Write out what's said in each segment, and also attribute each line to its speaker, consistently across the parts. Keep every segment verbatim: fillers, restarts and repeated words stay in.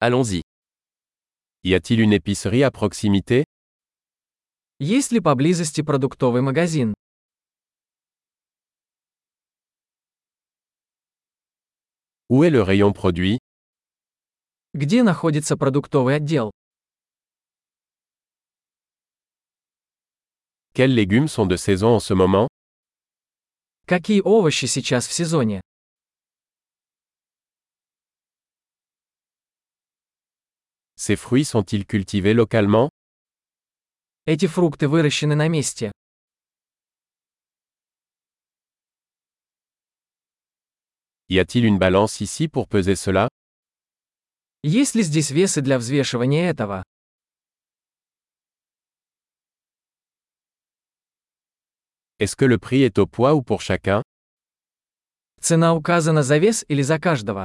Speaker 1: Allons-y.
Speaker 2: Y a-t-il une épicerie à proximité?
Speaker 3: Есть ли поблизости продуктовый магазин?
Speaker 2: Où est le rayon produit?
Speaker 3: Где находится продуктовый отдел?
Speaker 2: Quels légumes sont de saison en ce moment?
Speaker 3: Какие овощи сейчас в сезоне?
Speaker 2: Ces fruits sont-ils cultivés localement?
Speaker 3: Эти фрукты выращены на месте.
Speaker 2: Y a-t-il une balance ici pour peser cela?
Speaker 3: Есть ли здесь весы для взвешивания этого?
Speaker 2: Est-ce que le prix est au poids ou pour chacun?
Speaker 3: Цена указана за вес или за каждого?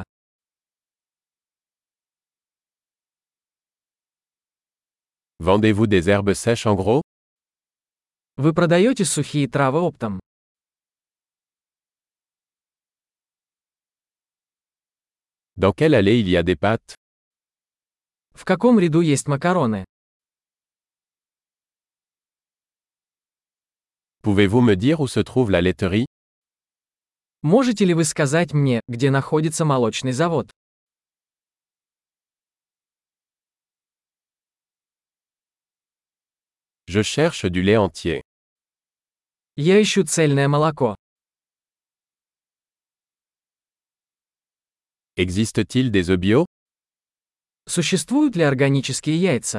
Speaker 2: Vendez-vous des herbes sèches en gros?
Speaker 3: Вы продаете сухие травы оптом?
Speaker 2: Dans quelle allée il y a des pâtes?
Speaker 3: В каком ряду есть макароны?
Speaker 2: Pouvez-vous me dire où se trouve la laiterie?
Speaker 3: Можете ли вы сказать мне, где находится молочный завод?
Speaker 2: Je cherche du lait entier.
Speaker 3: Я ищу цельное молоко.
Speaker 2: Existe-t-il des œufs bio?
Speaker 3: Существуют ли органические яйца?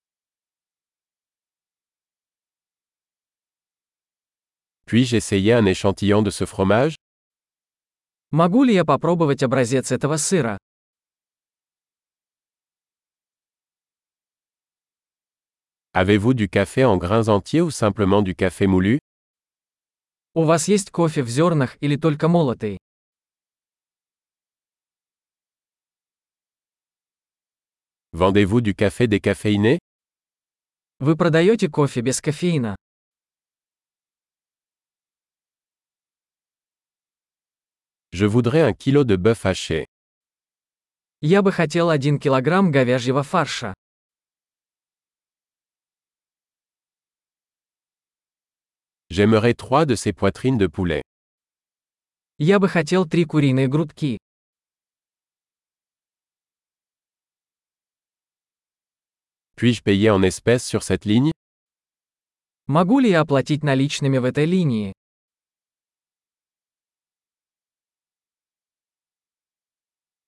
Speaker 2: Puis-je essayer un échantillon de ce fromage?
Speaker 3: Могу ли я попробовать образец этого сыра?
Speaker 2: Avez-vous du café en grains entiers ou simplement du café moulu?
Speaker 3: У вас есть кофе в зернах или только молотый?
Speaker 2: Vendez-vous du café décaféiné?
Speaker 3: Вы продаете кофе без кофеина?
Speaker 2: Je voudrais un kilo de bœuf haché.
Speaker 3: Я бы хотел один килограмм говяжьего фарша.
Speaker 2: J'aimerais trois de ces poitrines de poulet.
Speaker 3: Я бы хотел три куриные грудки.
Speaker 2: Puis-je payer en espèces sur cette ligne?
Speaker 3: Могу ли я оплатить наличными в этой линии?